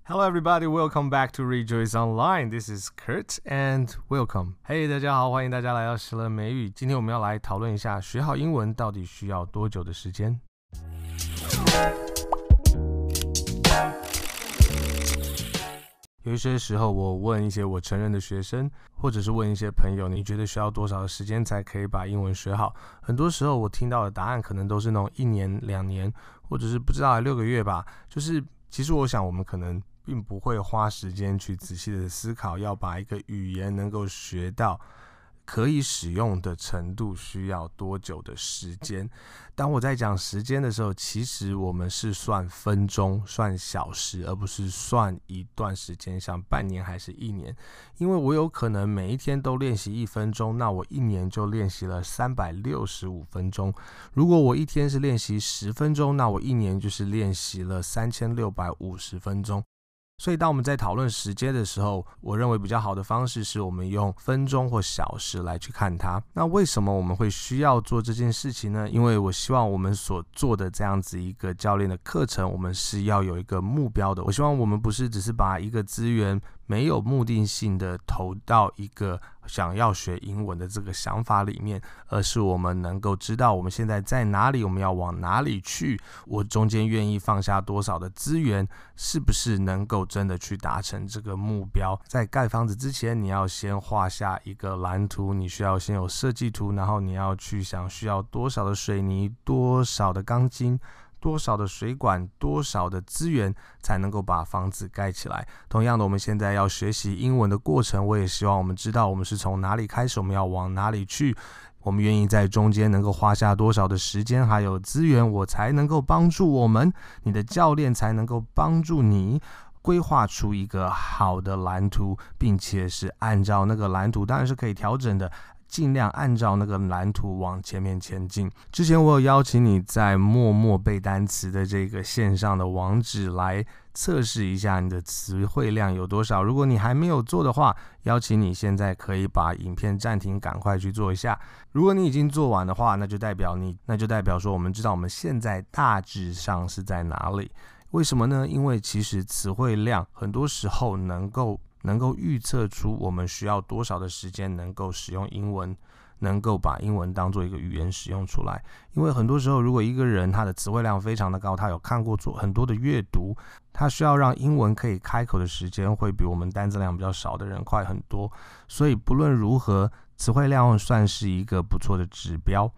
Hello everybody, welcome back to Rejoice Online. This is Kurt and welcome. Hey, 大家好，欢迎大家来到时乐美语。今天我们要来讨论一下，学好英文到底需要多久的时间？有一些时候，我问一些我承认的学生，或者是问一些朋友，你觉得需要多少的时间才可以把英文学好？很多时候我听到的答案可能都是那种1年、2年，或者是不知道6个月吧。就是其实我想，我们可能并不会花时间去仔细的思考，要把一个语言能够学到可以使用的程度需要多久的时间。当我在讲时间的时候，其实我们是算分钟、算小时，而不是算一段时间，像半年还是1年。因为我有可能每一天都练习1分钟，那我1年就练习了365分钟。如果我一天是练习10分钟，那我1年就是练习了3650分钟。所以当我们在讨论时间的时候，我认为比较好的方式是我们用分钟或小时来去看它。那为什么我们会需要做这件事情呢？因为我希望我们所做的这样子一个教练的课程，我们是要有一个目标的。我希望我们不是只是把一个资源没有目的性的投到一个想要学英文的这个想法里面，而是我们能够知道我们现在在哪里，我们要往哪里去，我中间愿意放下多少的资源，是不是能够真的去达成这个目标。在盖房子之前，你要先画下一个蓝图，你需要先有设计图，然后你要去想需要多少的水泥，多少的钢筋，多少的水管，多少的资源才能够把房子盖起来。同样的，我们现在要学习英文的过程，我也希望我们知道我们是从哪里开始，我们要往哪里去，我们愿意在中间能够花下多少的时间还有资源，我才能够帮助我们，你的教练才能够帮助你规划出一个好的蓝图，并且是按照那个蓝图，当然是可以调整的，尽量按照那个蓝图往前面前进。之前我有邀请你在默默背单词的这个线上的网址来测试一下你的词汇量有多少。如果你还没有做的话，邀请你现在可以把影片暂停，赶快去做一下。如果你已经做完的话，那就代表说我们知道我们现在大致上是在哪里。为什么呢？因为其实词汇量很多时候能够预测出我们需要多少的时间能够使用英文，能够把英文当做一个语言使用出来。因为很多时候，如果一个人他的词汇量非常的高，他有看过做很多的阅读，他需要让英文可以开口的时间会比我们单字量比较少的人快很多。所以不论如何，词汇量算是一个不错的指标。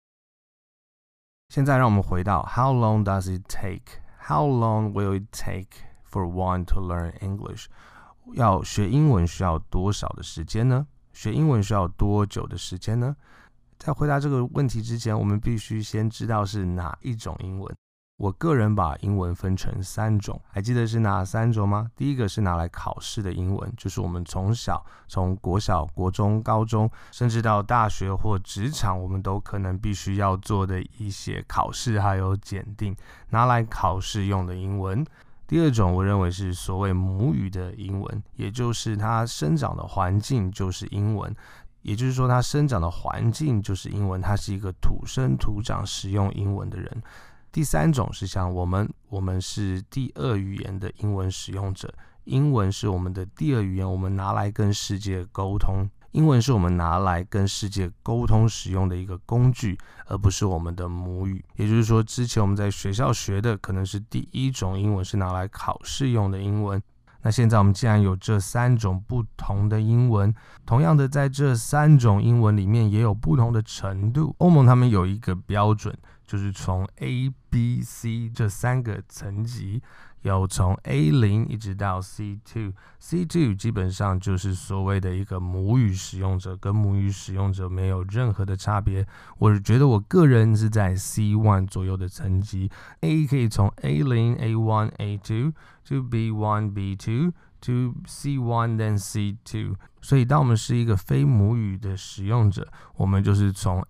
现在让我们回到 How long does it take?How long will it take for one to learn English? 要学英文需要多少的时间呢？学英文需要多久的时间呢？在回答这个问题之前，我们必须先知道是哪一种英文。我个人把英文分成3种，还记得是哪3种吗？第一个是拿来考试的英文，就是我们从国小、国中、高中，甚至到大学或职场，我们都可能必须要做的一些考试还有检定，拿来考试用的英文。第二种我认为是所谓母语的英文，也就是它生长的环境就是英文，也就是说它生长的环境就是英文，它是一个土生土长使用英文的人。第3种是像我们是第2语言的英文使用者，英文是我们的第2语言，我们拿来跟世界沟通，英文是我们拿来跟世界沟通使用的一个工具，而不是我们的母语。也就是说，之前我们在学校学的可能是第1种英文，是拿来考试用的英文。那现在我们既然有这3种不同的英文，同样的在这3种英文里面也有不同的程度。欧盟他们有一个标准，就是从 A、B、C 这3个层级，有从 A0 一直到 C2。C2 基本上就是所谓的一个母语使用者，跟母语使用者没有任何的差别。我觉得我个人是在 C1 左右的层级。A 可以从 A0、A1、A2 to B1、B2 to C1 then C2。所以当我们是一个非母语的使用者，我们就是从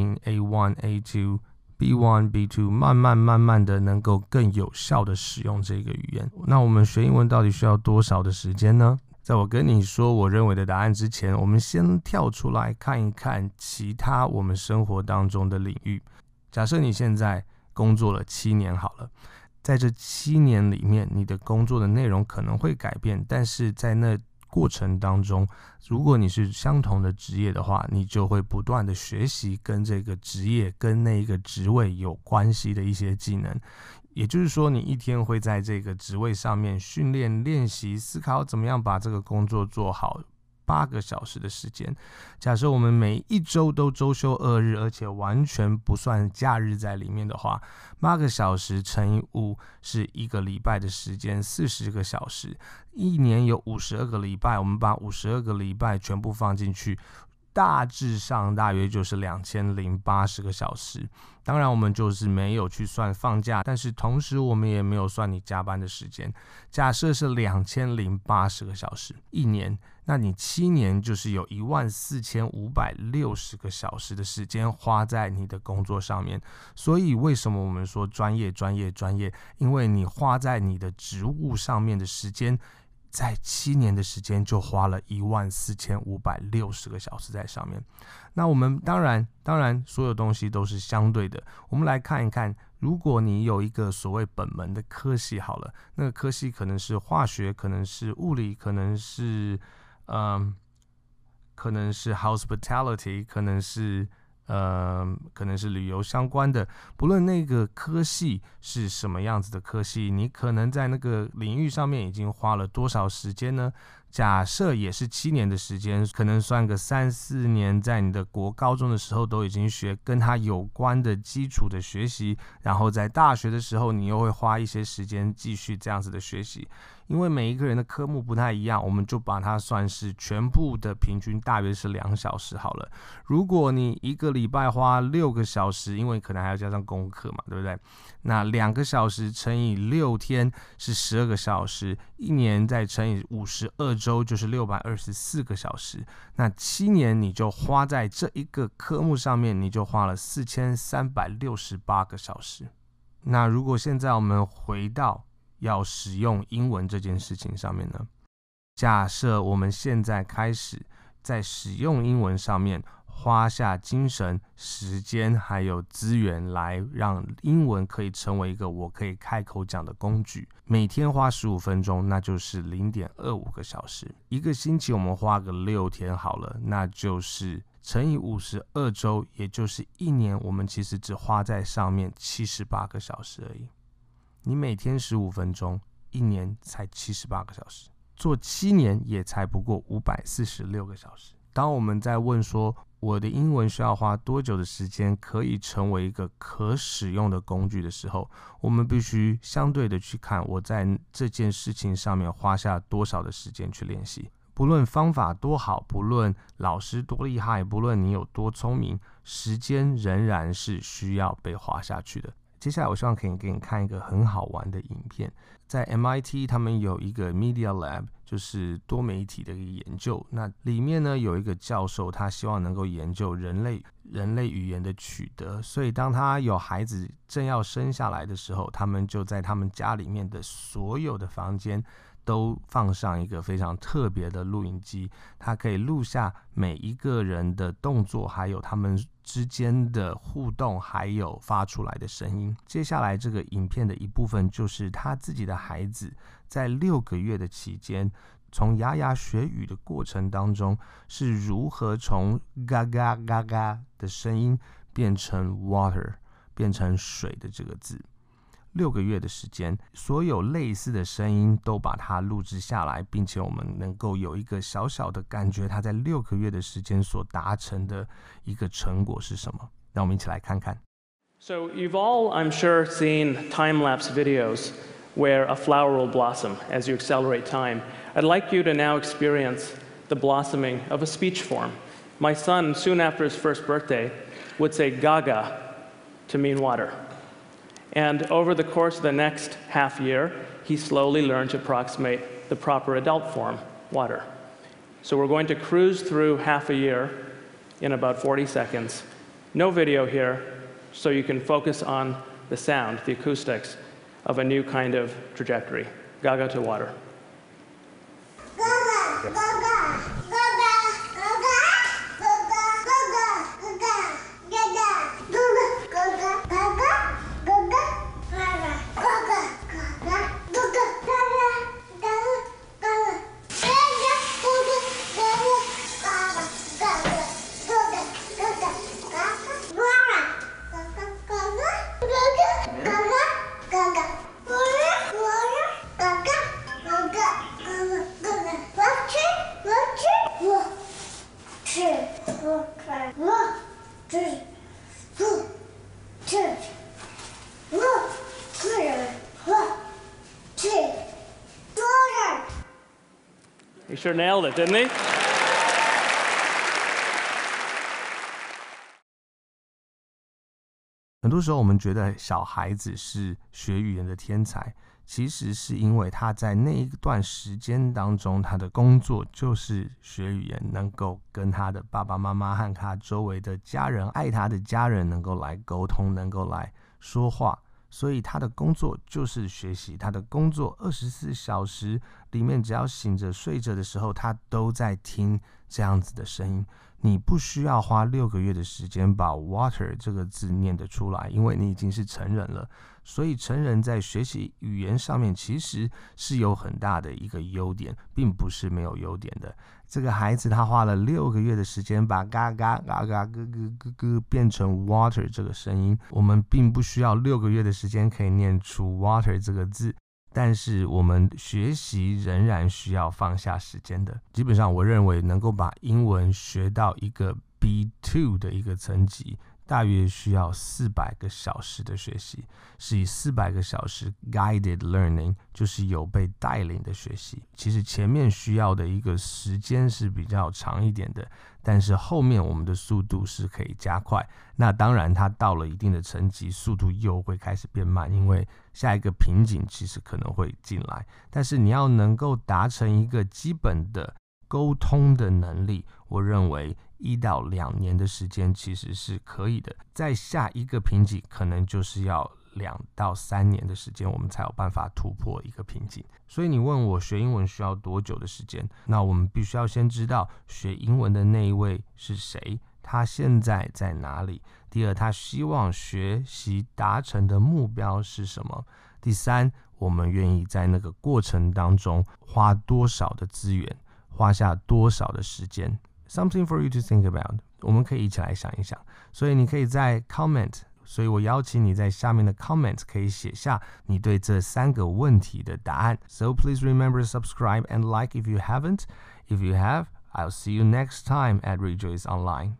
A0、A1、A2、B1、B2 慢慢的能够更有效的使用这个语言。那我们学英文到底需要多少的时间呢？在我跟你说我认为的答案之前，我们先跳出来看一看其他我们生活当中的领域。假设你现在工作了7年好了， 在这7年里面，你的工作的内容可能会改变，但是在那过程当中，如果你是相同的职业的话，你就会不断的学习跟这个职业跟那一个职位有关系的一些技能。也就是说，你一天会在这个职位上面训练、练习、思考怎么样把这个工作做好8个小时的时间。假设我们每一周都周休2日，而且完全不算假日在里面的话，8个小时乘以5是1个礼拜的时间，40个小时。一年有52个礼拜，我们把52个礼拜全部放进去，大致上大约就是2080个小时。当然我们就是没有去算放假，但是同时我们也没有算你加班的时间。假设是2080个小时一年，那你7年就是有14560个小时的时间花在你的工作上面。所以为什么我们说专业？因为你花在你的职务上面的时间，在7年的时间就花了14560个小时在上面。那我们当然所有东西都是相对的。我们来看一看，如果你有一个所谓本门的科系好了，那个科系可能是化学，可能是物理，可能是hospitality， 可能是旅游相关的。不论那个科系是什么样子的科系，你可能在那个领域上面已经花了多少时间呢？假设也是7年的时间，可能算个3-4年，在你的高中的时候都已经学跟它有关的基础的学习，然后在大学的时候你又会花一些时间继续这样子的学习。因为每一个人的科目不太一样，我们就把它算是全部的平均大约是2小时好了。如果你1个礼拜花6个小时，因为可能还要加上功课嘛，对不对？那2个小时乘以6天是12个小时，一年再乘以52周就是624个小时。那7年你就花在这一个科目上面，你就花了4368个小时。那如果现在我们回到要使用英文这件事情上面呢，假设我们现在开始在使用英文上面花下精神、时间还有资源，来让英文可以成为一个我可以开口讲的工具。每天花15分钟，那就是 0.25 个小时。一个星期我们花个6天好了，那就是乘以52周，也就是1年我们其实只花在上面78个小时而已。你每天15分钟，1年才78个小时，做7年也才不过546个小时。当我们在问说我的英文需要花多久的时间可以成为一个可使用的工具的时候，我们必须相对的去看我在这件事情上面花下多少的时间去练习。不论方法多好，不论老师多厉害，不论你有多聪明，时间仍然是需要被花下去的。接下来我希望可以给你看一个很好玩的影片。在 MIT 他们有一个 Media Lab， 就是多媒体的一个研究。那里面呢有一个教授，他希望能够研究人类语言的取得，所以当他有孩子正要生下来的时候，他们就在他们家里面的所有的房间都放上一个非常特别的录影机，它可以录下每一个人的动作，还有他们之间的互动，还有发出来的声音。接下来这个影片的一部分就是他自己的孩子在6个月的期间，从牙牙学语的过程当中，是如何从嘎嘎嘎嘎的声音变成 water， 变成水的这个字。6个月的时间，所有类似的声音都把它录制下来，并且我们能够有一个小小的感觉，它在6个月的时间所达成的一个成果是什么。让我们一起来看看。 So you've all, I'm sure, seen time-lapse videos where a flower will blossom as you accelerate time. I'd like you to now experience the blossoming of a speech form. My son, soon after his first birthday, would say gaga to mean water.And over the course of the next half year, he slowly learned to approximate the proper adult form, water. So we're going to cruise through half a year in about 40 seconds. No video here, so you can focus on the sound, the acoustics of a new kind of trajectory. Gaga to water. Gaga, gaga, gaga, gaga, gaga.Gaga. He sure nailed it, didn't he? 很多时候我们觉得小孩子是学语言的天才，其实是因为他在那一段时间当中，他的工作就是学语言，能够跟他的爸爸妈妈和他周围的家人、爱他的家人能够来沟通，能够来说话。所以他的工作就是学习，他的工作24小时里面，只要醒着睡着的时候，他都在听这样子的声音。你不需要花6个月的时间把 water 这个字念得出来，因为你已经是成人了。所以成人在学习语言上面其实是有很大的一个优点，并不是没有优点的。这个孩子他花了6个月的时间把嘎嘎嘎嘎咯咯咯咯变成 water 这个声音，我们并不需要6个月的时间可以念出 water 这个字，但是我们学习仍然需要放下时间的。基本上我认为能够把英文学到一个 B2 的一个层级，大约需要400个小时的学习，是以400个小时 guided learning， 就是有被带领的学习。其实前面需要的一个时间是比较长一点的，但是后面我们的速度是可以加快。那当然它到了一定的层级，速度又会开始变慢，因为下一个瓶颈其实可能会进来。但是你要能够达成一个基本的沟通的能力，我认为1到2年的时间其实是可以的。在下一个瓶颈可能就是要2到3年的时间，我们才有办法突破一个瓶颈。所以你问我学英文需要多久的时间，那我们必须要先知道学英文的那一位是谁，他现在在哪里。第二，他希望学习达成的目标是什么。第三，我们愿意在那个过程当中花多少的资源，花下多少的时间。Something for you to think about， 我们可以一起来想一想。所以你可以在 comment， 所以我邀请你在下面的 comment 可以写下你对这3个问题的答案。So please remember to subscribe and like if you haven't. If you have, I'll see you next time at Rejoice Online.